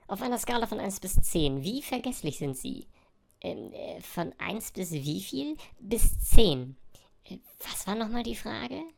Auf einer Skala von 1 bis 10, wie vergesslich sind Sie? Von 1 bis wie viel? Bis 10. Was war nochmal die Frage?